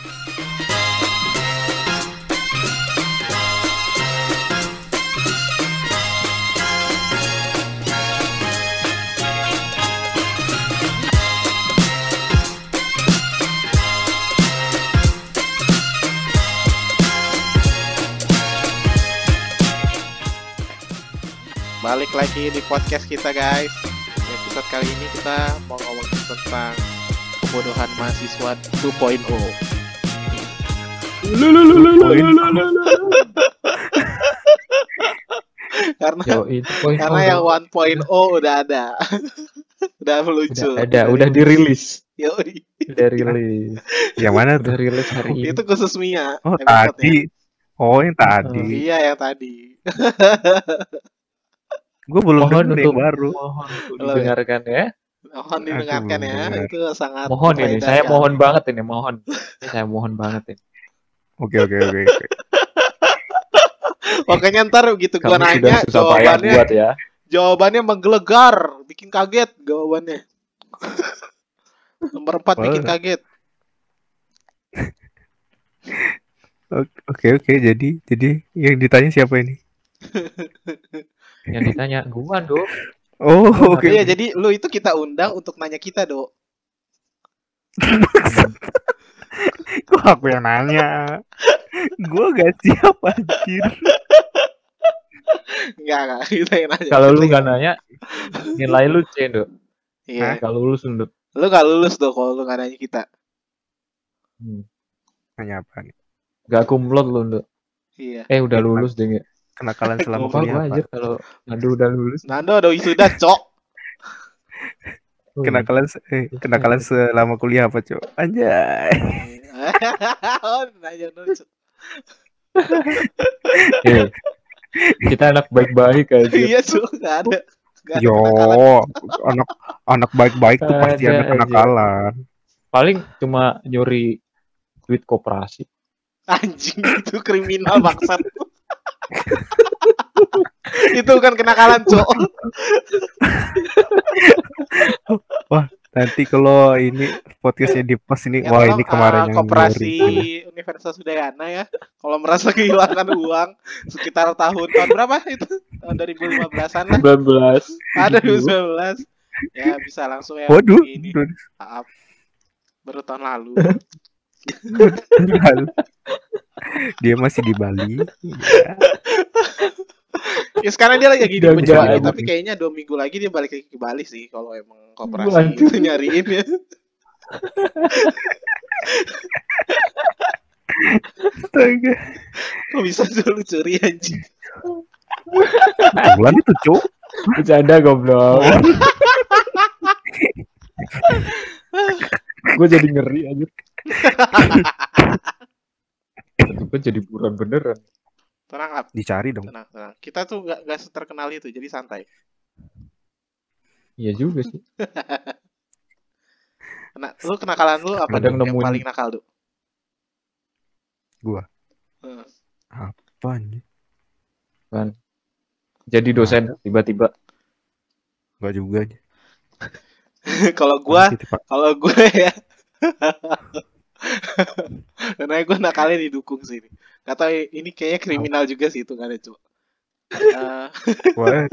Balik lagi di podcast kita guys. Episode kali ini kita mau ngomongin tentang kebodohan mahasiswa 2.0. Karena yang 1.0 udah ada. Udah meluncur. Udah dirilis. Yoi. Udah rilis. Yang mana tuh? Udah rilis hari ini. Itu khusus Mia. Oh, tadi. Oh, yang tadi. Iya, yang tadi. Gue belum Mohon denger untuk yang baru. Mohon untuk didengarkan ya. Mohon didengarkan ya. Itu sangat Mohon ini, berfaedah saya ya. mohon banget ini, mohon. Ini saya mohon banget ini. Oke. Pokoknya ntar gitu gua Kamu nanya sudah susah payah buat ya. jawabannya menggelegar, bikin kaget jawabannya. Nomor 4 bikin kaget. Oke. Jadi yang ditanya siapa ini? Yang ditanya gua, Dok. Oh, oke. Iya, jadi lu itu kita undang untuk nanya kita, Dok. Kok aku yang nanya? Gue gak siap anjir. Enggak, kita yang nanya. Kalau lu enggak nanya, nilai lu C, Dok. Iya. Kalau lulus, Dok. Lu gak lulus, Dok, kalau lu gak nanya kita. Nanya apa nih? Gak kumlot lu, Dok. Iya. Udah lulus deh nggak? Kenakalan selama Lupa kuliah gua apa? aja kalau Nando udah lulus. Nando ada wisuda, Cok. Kenakalan selama kuliah apa, Cok? Anjay. Oh, nanya dulu, Cok. Kita anak baik-baik aja. Iya, Cok, gak ada. Yo, anak baik-baik tuh pasti ada kenakalan. Paling cuma nyuri duit koperasi. Anjing, itu kriminal bangsat. Itu bukan kenakalan, Cok. Wah, nanti kalau ini podcastnya di post ini, wah ini kemarin yang koperasi nyuri. Universitas Udayana ya. Kalau merasa kehilangan uang sekitar tahun berapa itu? Tahun 2015-an lah. 19. Ada 2019. Ya bisa langsung ya. Waduh. Ini. Maaf. Baru tahun lalu. Dia masih di Bali. Ya sekarang dia lagi di Bali, Enggak. tapi kayaknya 2 minggu lagi dia balik lagi ke Bali sih kalau emang koperasi itu nyariin ya. Astaga. Kok bisa lu curi anjing? Bulan itu, Cok. Bercanda goblok. Gue jadi ngeri aja. Itu kan jadi buron beneran. Tenang, Ap. Dicari dong. Tenang. Kita tuh gak terkenal itu, jadi santai. Iya juga sih. Lu kenakalan lu apa Kadang yang nemuin. paling nakal, Duk? Gua. Apa nih? Kan. Jadi dosen tiba-tiba. Gak juga. Kalau gue ya. Karena gue nakalnya didukung sih. Kata ini kayaknya kriminal juga sih itu kan ya, Cuk. Wah.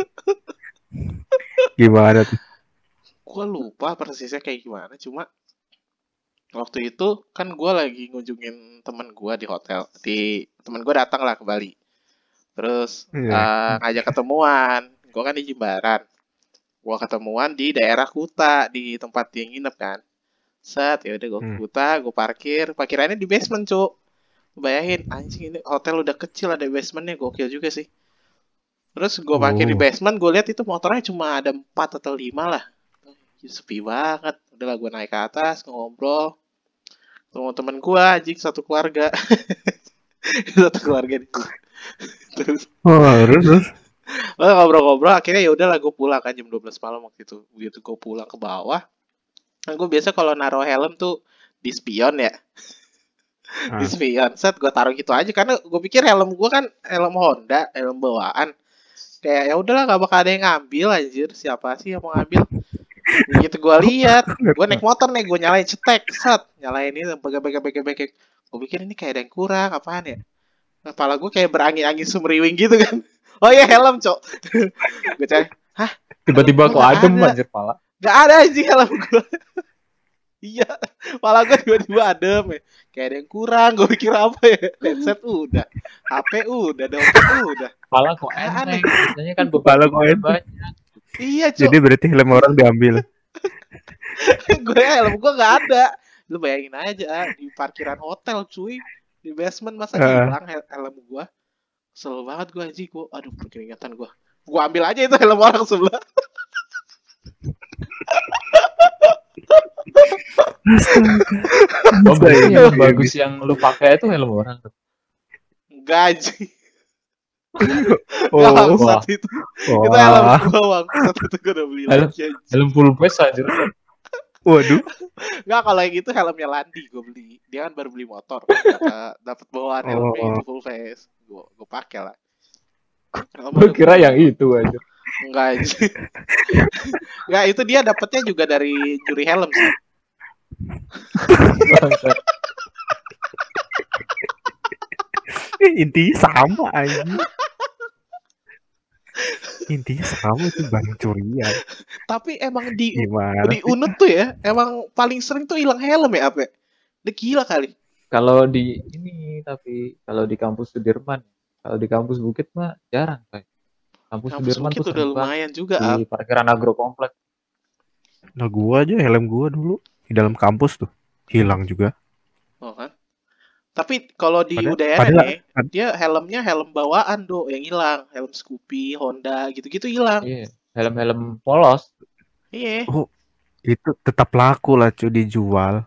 Gimana tuh? Gue lupa persisnya kayak gimana, cuma waktu itu kan gue lagi ngunjungin temen gue di hotel. Temen gue datang lah ke Bali. Terus ngajak ketemuan. Gue kan di Jimbaran. Gue ketemuan di daerah Kuta, di tempat dia nginep kan. Set, ya udah gue ke Kuta, gue parkirannya di basement, Cuk. Bayangin, anjing ini hotel udah kecil ada basementnya, gokil juga sih. Terus gue parkir di basement, gue lihat itu motornya cuma ada 4 atau 5 lah. Sepi banget. Udahlah gue naik ke atas, ngobrol. Ketemu temen gue, anjing satu keluarga. Satu keluarga nih. Terus ngobrol-ngobrol, akhirnya ya udahlah gue pulang kan jam 12 malam waktu itu. Begitu gue pulang ke bawah, kan gue biasa kalau naruh helm tuh di spion ya. Di spion, set gue taruh gitu aja karena gue pikir helm gue kan helm Honda, helm bawaan. Kayak ya udahlah gak bakal ada yang ngambil anjir, siapa sih yang mau ngambil. Begitu gue lihat, gue naik motor nih, gue nyalain cetek, set, nyalain ini, bege. Gue pikir ini kayak ada yang kurang, apaan ya? Kepala gue kayak berangin-angin sumriwing gitu kan. Oh iya helm, cok. Gue cari, hah? Tiba-tiba kok Nggak adem ada. anjir pala. Gak ada anjing helm gue. Iya, kepala gue tiba-tiba adem ya. Kayak ada yang kurang, gue pikir apa ya? Headset udah, HP udah, dompet udah. Pala kok Aneh. enteng. Biasanya kan Pala kok beban enteng. banyak. Iya, cok. Jadi berarti helm orang diambil. Gue helm gue gak ada. Lu bayangin aja di parkiran hotel cuy, di basement masa hilang helm gue. Kesel banget gue anjing, gue aduh berkeringatan gue ambil aja itu helm orang sebelah. Oh, berarti yang bagus yang lu pakai itu helm orang. Enggak anjing. Oh, Bangsat itu helm gue bangsat itu gue udah beli Helm. lagi anjing. Helm full face anjir. waduh. Enggak, kalau yang itu helmnya Landi gue beli. Dia kan baru beli motor. Dapat bawaan helmnya itu full face. Gue pakai lah. Gue kira yang itu aja. Enggak anjing. Enggak, itu dia dapatnya juga dari juri helm sih. Intinya sama aja. Intinya sama itu barang curian. Tapi emang di Gimana? Unut tuh ya, emang paling sering tuh hilang helm ya, apa? Udah gila kali. Kalau di ini tapi kalau di kampus Sudirman, kalau di kampus Bukit mah jarang kayak. Kampus Sudirman Bukit tuh udah sering banget lumayan juga, di parkiran agro komplek. Nah gua aja helm gua dulu di dalam kampus tuh hilang juga. Oh kan? Tapi kalau di Padahal- UDN padahal- nih, dia helmnya helm bawaan do yang hilang, helm Scoopy, Honda gitu-gitu hilang. Iya, helm-helm polos. Iya. Itu tetap laku lah cuy dijual.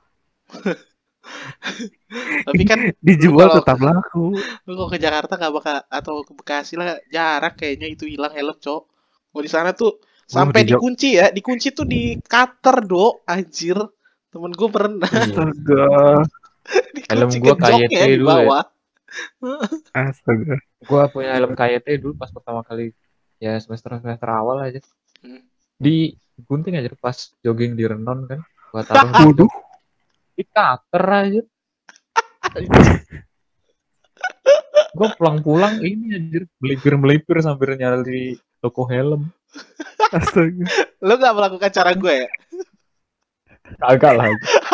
Tapi kan Dijual kalau- tetap laku. lu kalau ke Jakarta nggak bakal, atau ke Bekasi lah jarak kayaknya itu hilang helm, cok. Kalau di sana tuh sampai di Jog- dikunci ya, dikunci tuh di cutter do, anjir. Temen gue pernah Astaga. Helm dikunci gua ke joknya KYT di dulu ya. bawah. Astaga. Gua punya helm KYT dulu pas pertama kali ya semester awal aja. Hmm. Di gunting aja pas jogging di Renon kan. Gua taruh Waduh. di cutter aja. Gua pulang-pulang ini anjir melipir sambil nyari toko helm. Astaga. Lu nggak melakukan cara gue ya? Kagak lah.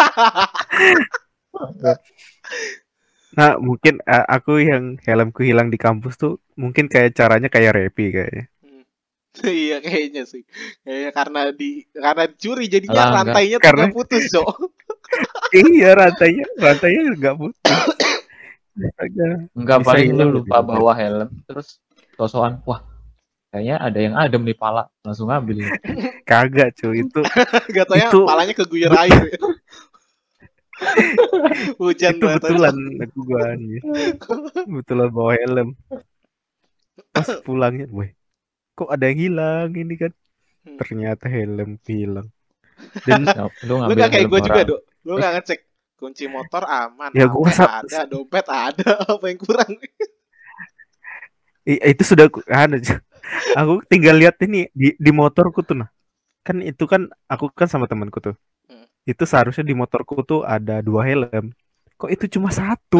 Nah mungkin aku yang helmku hilang di kampus tuh mungkin kayak caranya kayak Repi kayaknya. Iya kayaknya sih. Kayaknya karena curi jadinya Alah, rantainya tuh Karena- nggak putus, cok. Iya rantainya nggak putus. Astaga. Enggak Bisa paling hilang lu lupa lebih. bawa helm terus sosokan wah kayaknya ada yang adem nih pala langsung ambil. Kagak cuy itu Gak tau ya, Itu- palanya keguyur air. Hujan itu banget. betulan aku gua nih. Betulan bawa helm. Pas pulangnya, weh, kok ada yang hilang ini kan? Hmm. Ternyata helm hilang. Dan Lu Lu ngambil gak kayak helm gue juga, orang. Dok. Lu gak ngecek kunci motor aman, Ya, HP gua ada, dompet ada, apa yang kurang? itu sudah aku tinggal lihat ini di motorku tuh nah. Kan itu kan aku kan sama temanku tuh. Hmm. Itu seharusnya di motorku tuh ada 2 helm. Kok itu cuma 1?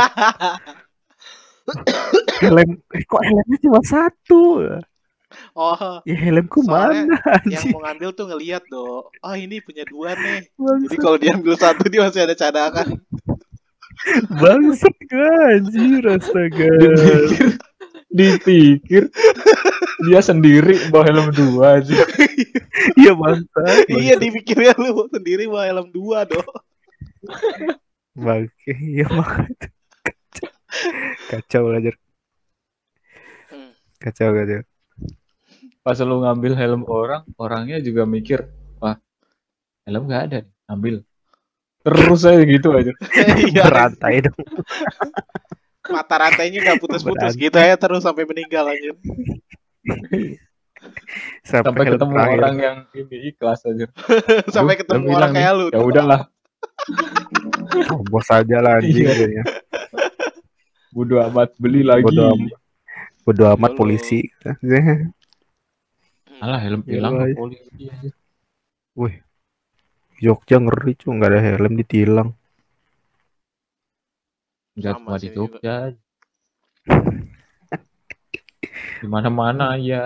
Kok helmnya cuma 1? Oh, Ya helmku soalnya mana yang anjing? mau ngambil tuh ngeliat, Dok. Oh, ini punya 2 nih. Jadi Bangsat, kalau diambil 1 dia masih ada cadangan. bangsat gua anjir astaga. Dipikir dia sendiri bawa helm 2 aja. Iya bangsat. Iya, dipikirnya lu sendiri bawa helm 2, Dok. Bangke, iya makanya. Kacau lah Jar. Hmm. Kacau. Pas lu ngambil helm orangnya juga mikir, wah helm nggak ada nih, ambil. Terus aja gitu aja. Iya, Berantai dong. mata rantainya gak putus-putus Berantai. gitu ya, terus sampai meninggal aja. Sampai helm ketemu terakhir. orang yang ini ikhlas aja. Sampai Aduh, ketemu helm orang hilang kayak nih. lu. Ya udahlah, Oh, bos aja lah anjing. Iya. Kayaknya. bodo amat beli lagi. Bodo amat Halo. polisi. Alah helm Ya hilang Allah. polisi aja. Wih, Jogja ngeri cuy, nggak ada helm ditilang. Nggak Sama cuma di sih juga. Jogja, di mana-mana ya.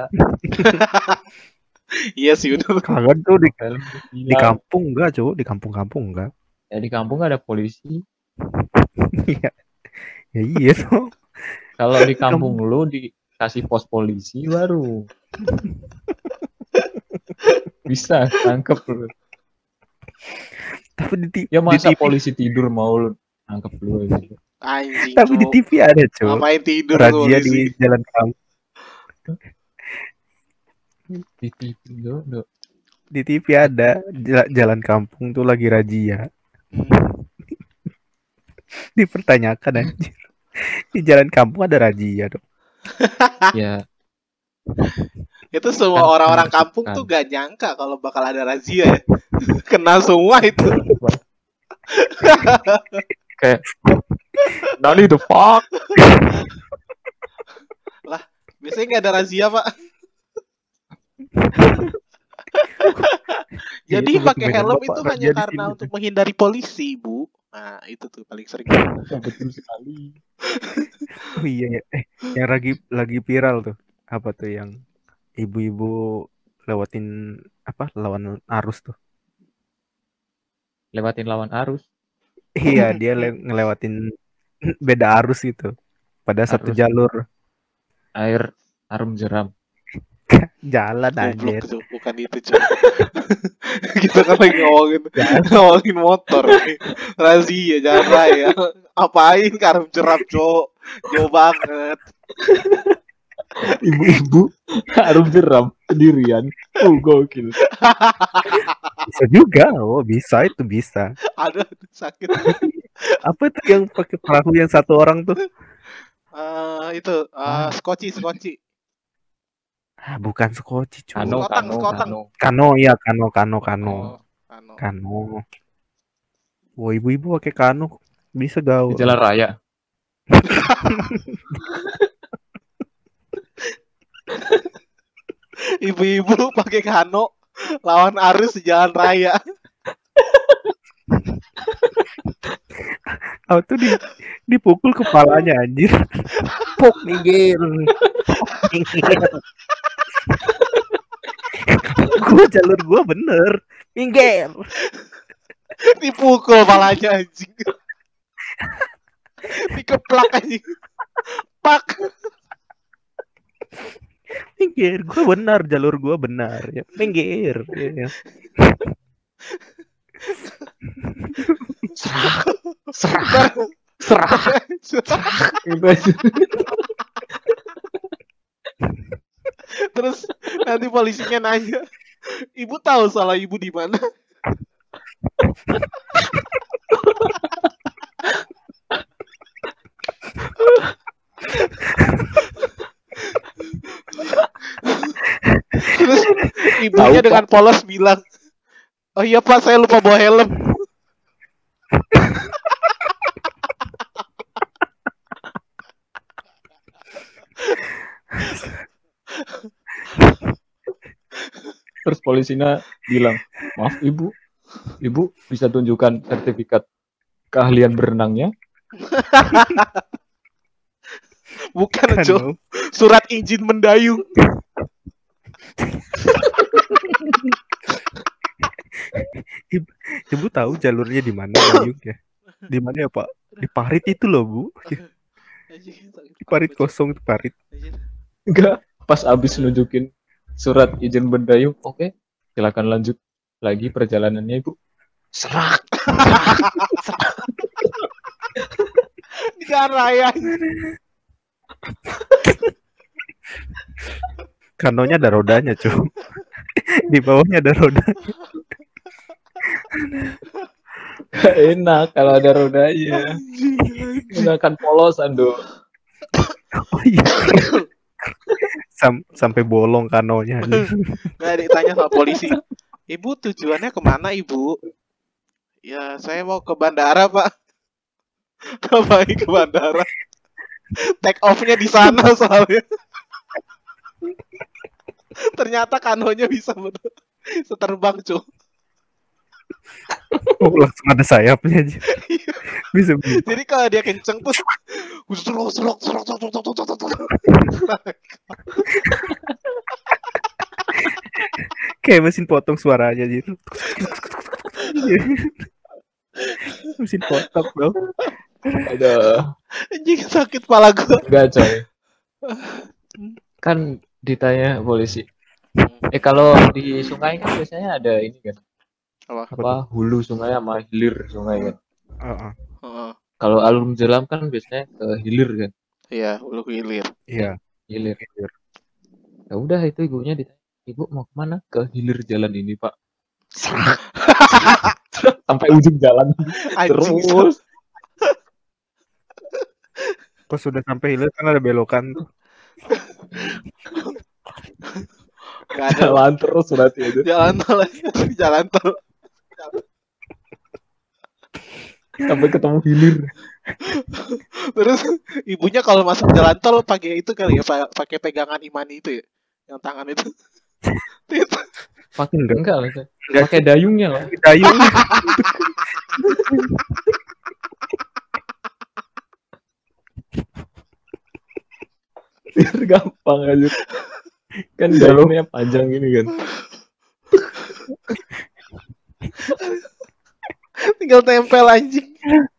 Iya sih udah. Kagak tuh Helm di ditilang. kampung enggak cuy, di kampung-kampung enggak. Ya di kampung nggak ada polisi. Iya, ya iya tuh. Kalau di kampung Kamu- lu dikasih pos polisi baru bisa tangkep lu. Tapi Ya di masa TV, polisi tidur mau lu tangkep lu gitu. Anjing, tapi di Cuk. TV ada cuy. Ngapain tidur tuh Razia polisi? di jalan kampung. Di TV dulu. Di TV ada jalan kampung tuh lagi razia. Hmm. Dipertanyakan anjir. Di jalan kampung ada razia dong. Ya Itu semua kan orang-orang kampung menakutkan. tuh gak nyangka kalau bakal ada razia ya. Kena semua itu. Kayak Nani the fuck. Lah, biasanya nggak ada razia, Pak. Ya, Jadi itu pakai permainan helm Bapak itu razia hanya di karena sini. untuk menghindari polisi, Bu. Nah, itu tuh paling sering. Betul sekali. Oh iya ya. Yang lagi viral tuh. Apa tuh yang ibu-ibu lewatin apa lawan arus tuh. Lewatin lawan arus. Iya, dia ngelewatin beda arus gitu. Pada satu Arus jalur air harum jeram. jalan Goblok anjir. tuh, bukan itu, Cuk. Kita kan lagi ngomongin motor nih. Razia jalan raya. Apain karam jeram, Cuk? Jauh banget. Ibu-ibu harum jeram sendirian. Oh gokil. Bisa juga. Oh, bisa itu bisa. Aduh, sakit. Apa tuh yang pakai perahu yang satu orang tuh? Itu skoci. Ah, bukan skoci, cuy. Kano. Kano ya, kano. Oh, kano. Kano. Wah, ibu-ibu pakai kano bisa Di gaul. jalan raya. Ibu-ibu pakai kano lawan arus di jalan raya. Oh, tuh dipukul kepalanya anjir. Pok minggir. Jalur gua bener. Minggir. Dipukul palanya anjing. Dikeplak anjing. Pak. Minggir. Gua benar, jalur gua benar. Ya, minggir. Ya. Serah. Gitu aja. Terus nanti polisinya nanya, ibu tahu salah ibu di mana? Terus ibunya dengan polos bilang, oh iya Pak, saya lupa bawa helm. Terus polisinya bilang, maaf ibu bisa tunjukkan sertifikat keahlian berenangnya? Bukan, Cok. Surat izin mendayung. Ibu tahu jalurnya di mana dayung ya? Di mana ya Pak? Di parit itu loh Bu. Di parit kosong di parit. Enggak, pas abis nunjukin surat izin mendayung, oke, silakan lanjut lagi perjalanannya ibu. Serak. Di jalan raya. Kanonya ada rodanya cuy. Di bawahnya ada roda. Enak kalau ada rodanya. Gunakan polosan dong. Oh iya. Sampai bolong kanonya. Nggak ditanya sama polisi. Ibu tujuannya kemana ibu? Ya saya mau ke bandara Pak. Ngapain ke bandara? Take off-nya di sana soalnya. Ternyata kanonya bisa seterbang, Cuk. Oh, langsung ada sayapnya aja. Bisa. Jadi kalau dia kenceng tuh serok serok serok serok serok serok serok. Kayak mesin potong suaranya gitu. Mesin potong bro. Ada. Anjing sakit kepala gua. Enggak coy. Kan ditanya polisi. Kalau di sungai kan biasanya ada ini kan. Apa hulu sungai sama hilir sungai kan. Kalau alun jeram kan biasanya ke hilir kan. Iya, hulu ke hilir. Iya. Hilir. Ya udah itu ibunya ditanya, ibu mau kemana? Ke hilir jalan ini pak. Sampai ujung jalan. Terus. Pas sudah sampai hilir kan ada belokan tuh. Gak ada. Jalan terus berarti itu. Jalan tol. Sampai ketemu hilir. Terus ibunya kalau masuk jalan tol pakai itu kali ya, pakai pegangan imani itu ya, yang tangan itu. Pakai enggak lah. Pakai dayungnya lah. Dayung. Biar gampang aja. Kan jalurnya panjang gini kan. Tinggal tempel anjing.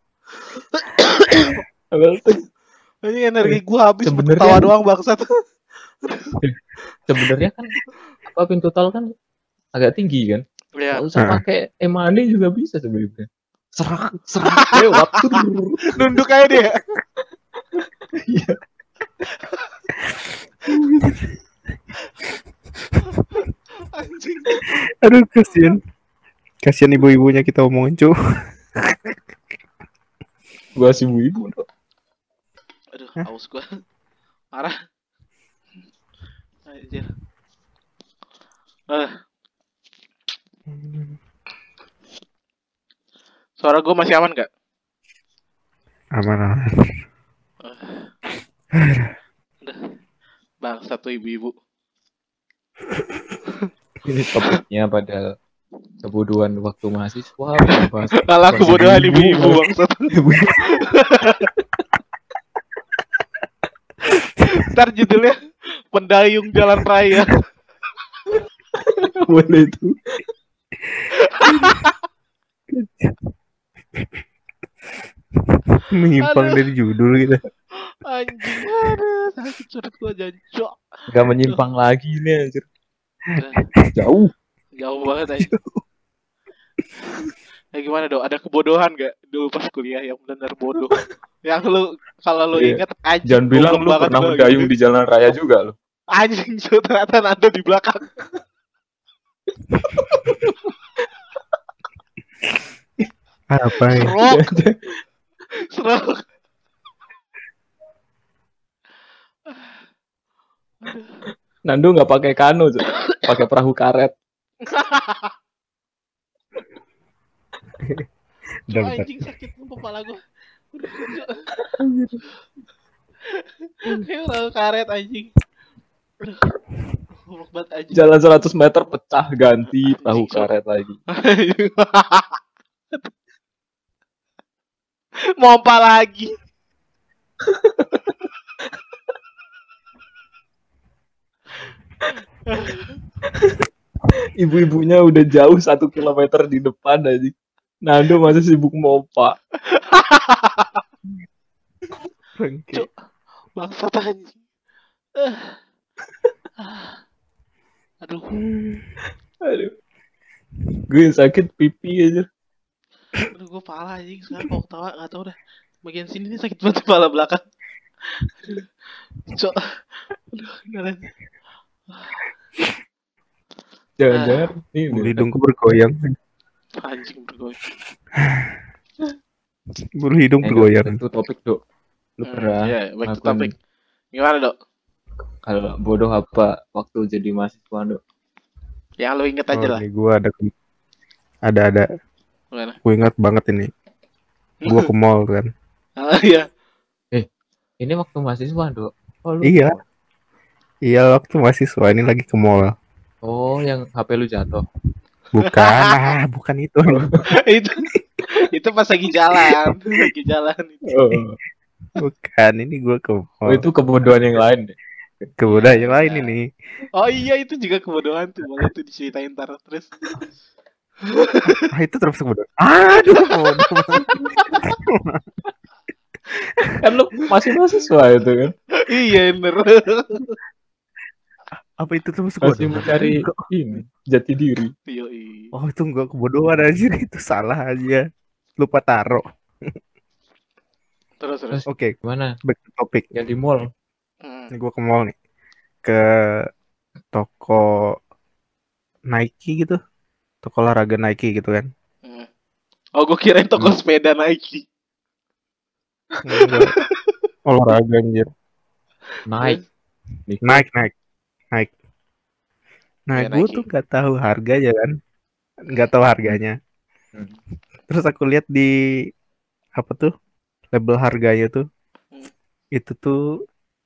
Ini energi gua habis ketawa doang bangsat. Sebenarnya kan apa pintu tol kan agak tinggi kan. Iya. Nggak usah pakai emani juga bisa sebenarnya. Serak lewat nunduk aja dia. Iya. Anjing. Aduh kasihan ibu-ibunya kita omongin cu. Gua si ibu. Aduh, haus gua. Marah. Anjir. Suara gua masih aman gak? Aman. Udah. Bang, satu ibu-ibu. Ini topiknya pada kebodohan waktu mahasiswa. Kalah kebodohan ibu-ibu bangsat. Ntar judulnya Pendayung Jalan Raya. Boleh itu. Menyimpang dari judul gitu. Anjing, aduh, sakit surut gua jancok. Gak menyimpang lagi nih anjir. Jauh banget aja. Ya gimana dong? Ada kebodohan gak dulu pas kuliah yang benar bodoh? Yang lu kalau lu ingat aja. Jangan bilang lu pernah mendayung gitu di jalan raya juga lu. Anjing, ternyata Nando di belakang. Apa ya? Serok. Nando nggak pakai kano, pakai perahu karet. Anjing sakit kepala gue. Kayak perahu karet anjing. Jalan 100 meter pecah ganti perahu karet lagi. Mompa lagi. Ibu-ibunya udah jauh 1 kilometer di depan aja. Nando masih sibuk mompa. Bangsat anjing. Aduh. Gue sakit pipi aja. Aduh, gue pala anjing sekarang kalau ketawa nggak tahu dah. Bagian sini nih sakit banget kepala belakang. Cok. Aduh, keren. Jangan-jangan hidungku bergoyang. Anjing bergoyang. Bulu hidung bergoyang. Itu topik, Dok. Lu pernah? Iya, baik to topik. Gimana, Dok? Kalau bodoh apa waktu jadi mahasiswa, Dok? Yang lu inget aja lah. Gue ada. Gimana? Gue ingat banget ini. Gue ke mall kan. Iya. Ini waktu mahasiswa, Dok. Oh, iya. Iya, waktu mahasiswa ini lagi ke mall. Oh, yang HP lu jatuh. Bukan itu. itu pas lagi jalan itu. Bukan, ini gue ke mall. Itu kebodohan yang lain deh. Kebodohan yang lain ini. Oh iya, itu juga kebodohan tuh, boleh tuh diceritain ntar terus. Itu terus kebodohan. Aduh, bodoh. Kan lu masih mahasiswa itu kan. Iya bener. Apa itu terus masih mencari ini jati diri. Oh, itu enggak kebodohan aja, itu salah aja. Lupa taruh. Terus. Oke, gimana? Back to topic. Yang di mall. Ini gue ke mall nih. Ke toko Nike gitu. Toko olahraga Nike gitu kan. Oh, gue kirain toko sepeda Nike. Olahraga anjir. Nike. Nah, gue tuh gak tahu harganya kan. Gak tahu harganya. Terus aku lihat di apa tuh label harganya tuh. Itu tuh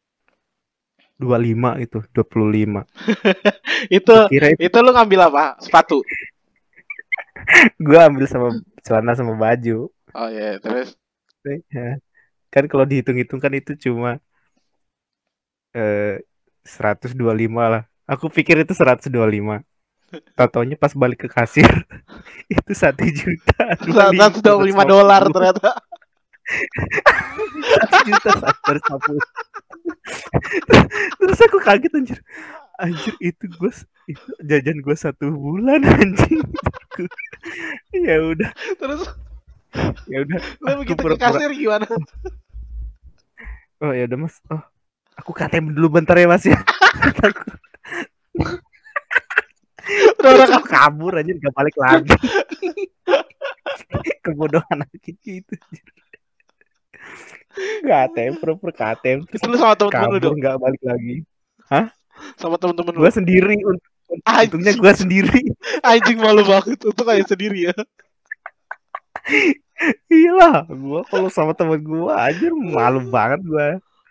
25 itu, 25. itu lu ngambil apa? Sepatu. Gue ambil sama celana sama baju. Oh iya, terus kan kalau dihitung-hitung kan itu cuma 125 lah. Aku pikir itu 125. Tatonya pas balik ke kasir itu 1 juta. $125 ternyata. 1 juta 150. Terus aku kaget anjir itu jajan gue 1 bulan anjing. Ya udah. Terus lu begitu ke kasir gimana? Oh ya udah mas, aku KTM dulu bentar ya mas ya. Terus aku kabur aja, gak balik lagi. Kebodohan aja gitu. KTM, pura-pura KTM. Terus lu sama temen-temen lu dong? Gak balik lagi. Hah? Sama temen-temen lu? Gue sendiri. Untungnya gue sendiri. Anjing, malu banget. Untuk kayak sendiri ya. Iyalah, gue kalau sama temen gue aja malu banget gue.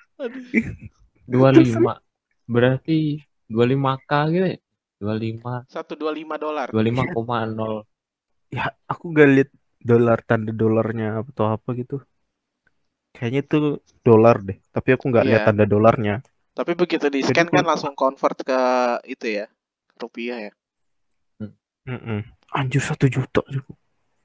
25 berarti 25k gitu ya? 25 $125. 25,0. Ya, aku gak lihat tanda dolarnya atau apa gitu. Kayaknya itu dolar deh, tapi aku nggak lihat tanda dolarnya. Tapi begitu di scan kan langsung convert ke itu ya, rupiah ya. Anjir 1 juta juga.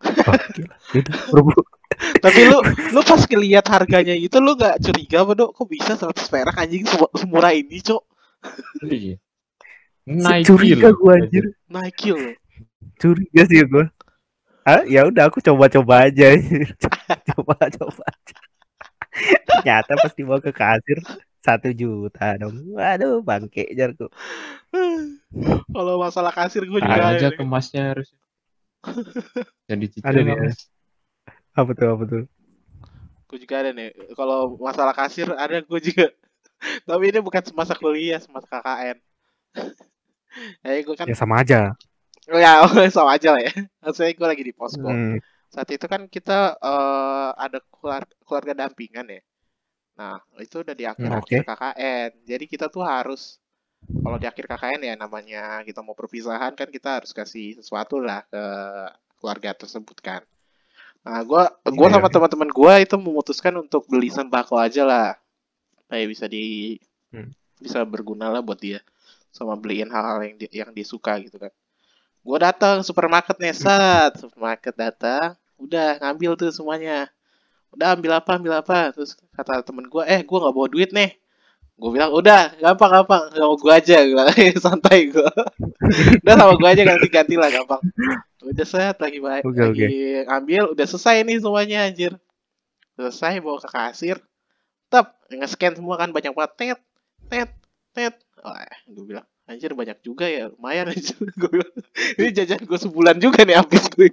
Tapi lu pas ngeliat harganya itu lu nggak curiga apa dok? Kok bisa 100 perak anjing semurah ini cok? Iya. Curiga gue anjir. Nike loh. Curiga sih gue. Ya udah aku coba-coba aja. coba aja. Ternyata pas dibawa ke kasir 1 juta dong. Waduh bangke jarku. Kalau masalah kasir gue juga aja kemasnya harus. Jadi ada nih. Apa tuh? Gue juga ada nih. Kalau masalah kasir ada gue juga. Tapi ini bukan semasa kuliah, semasa KKN. Gue kan. Ya sama aja. Ya sama aja lah ya. Maksudnya gue lagi di posko. Saat itu kan kita ada keluarga dampingan ya. Nah itu udah di akhir KKN. Jadi kita tuh harus, kalau di akhir KKN ya namanya kita mau perpisahan kan, kita harus kasih sesuatu lah ke keluarga tersebut kan. Nah gue sama teman-teman gue itu memutuskan untuk beli sembako aja lah, kayak bisa berguna lah buat dia, sama beliin hal-hal yang dia suka gitu kan. Gue datang supermarket nih, supermarket datang, udah ngambil tuh semuanya, udah ambil apa, terus kata temen gue, gue nggak bawa duit nih. Gue bilang udah gampang, sama gue aja, santai gue. Udah sama gue aja, ganti lah gampang. Udah set lagi ambil, udah selesai nih semuanya anjir. Selesai bawa ke kasir, nge-scan semua kan, banyak banget, tet. Gue bilang anjir banyak juga ya, lumayan aja. Gue bilang ini jajan gue sebulan juga nih habis gue.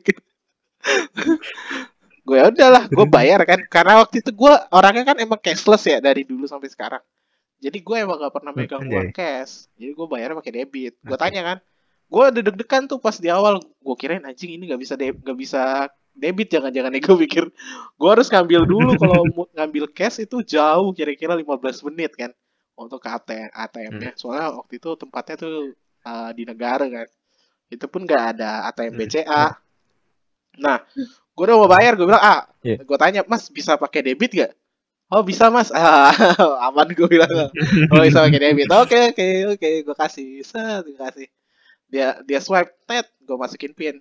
Gue ya udahlah, gue bayar kan, karena waktu itu gue orangnya kan emang cashless ya dari dulu sampai sekarang. Jadi gue emang gak pernah megang uang cash. Jadi gue bayarnya pakai debit. Gue tanya kan, gue deg-degan tuh pas di awal. Gue kirain anjing ini gak bisa debit, jangan-jangan nih gue pikir. Gue harus ngambil dulu, kalau ngambil cash itu jauh, kira-kira 15 menit kan untuk ke ATM-nya. Soalnya waktu itu tempatnya tuh di negara kan. Itu pun nggak ada ATM BCA. Nah, gue udah mau bayar, gue bilang, gue tanya, Mas bisa pakai debit gak? Oh bisa Mas, aman gue bilang. Oh bisa pakai debit, oke, gue kasih, gue kasih. Dia swipe, gue masukin pin,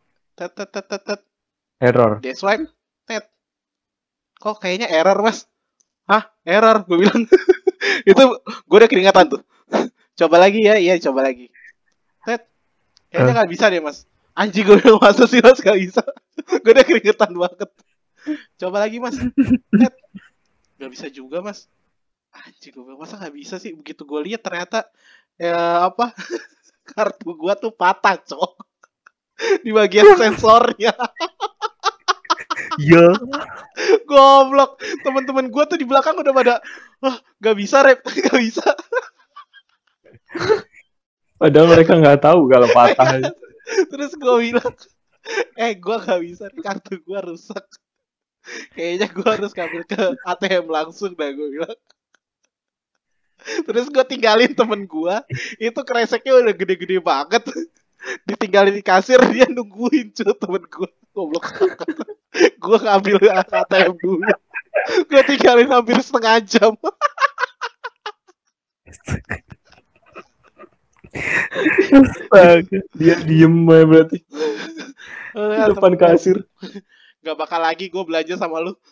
error. Dia swipe, kok kayaknya error Mas? Hah, error, gue bilang. Itu gue udah keringatan tuh. Coba lagi ya, iya coba lagi. Kayaknya nggak bisa deh Mas. Anjing gue bilang masa sih Mas gak bisa. Gue udah keringetan banget. Coba lagi Mas. Gak bisa juga Mas. Anjing gue bilang masa gak bisa sih. Begitu gue lihat ternyata kartu gue tuh patah cok. Di bagian sensornya. Iya. Goblok. Teman-teman gue tuh di belakang udah pada gak bisa Rep. Gak bisa. Padahal mereka nggak tahu kalau patah. Terus gue bilang, gue gak bisa, kartu gue rusak. Kayaknya gue harus ngambil ke ATM langsung dah, gue bilang. Terus gue tinggalin temen gue, itu kreseknya udah gede-gede banget. Ditinggalin di kasir, dia nungguin cuy temen gue. Goblok banget. Gue ngambil ATM dulu. Gue tinggalin hampir setengah jam. Dia diem aja berarti di depan kasir. Gak bakal lagi gue belanja sama lu.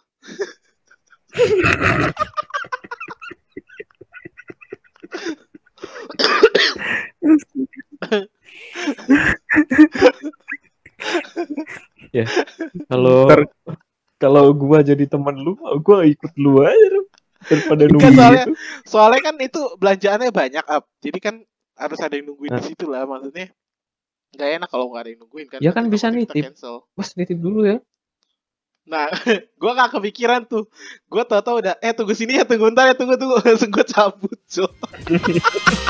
Ya kalau gue jadi teman lu, gue ikut lu aja daripada nungguin. Soalnya kan itu belanjaannya banyak jadi kan harus ada yang nungguin di situ lah, maksudnya nggak enak kalau nggak ada yang nungguin kan. Ya kan bisa nitip, Mas nitip dulu ya. Nah, gue gak kepikiran tuh. Gue tau udah, tunggu sini ya, tunggu bentar ya, tunggu langsung gue cabut,